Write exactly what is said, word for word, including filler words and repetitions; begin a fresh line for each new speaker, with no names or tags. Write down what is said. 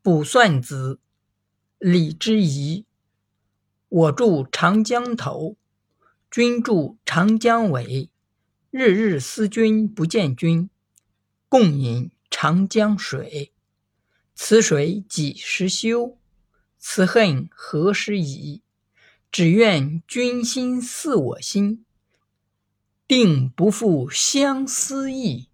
卜算子，李之仪。我住长江头，君住长江尾。日日思君不见君，共饮长江水。此水几时休？此恨何时已？只愿君心似我心，定不负相思意。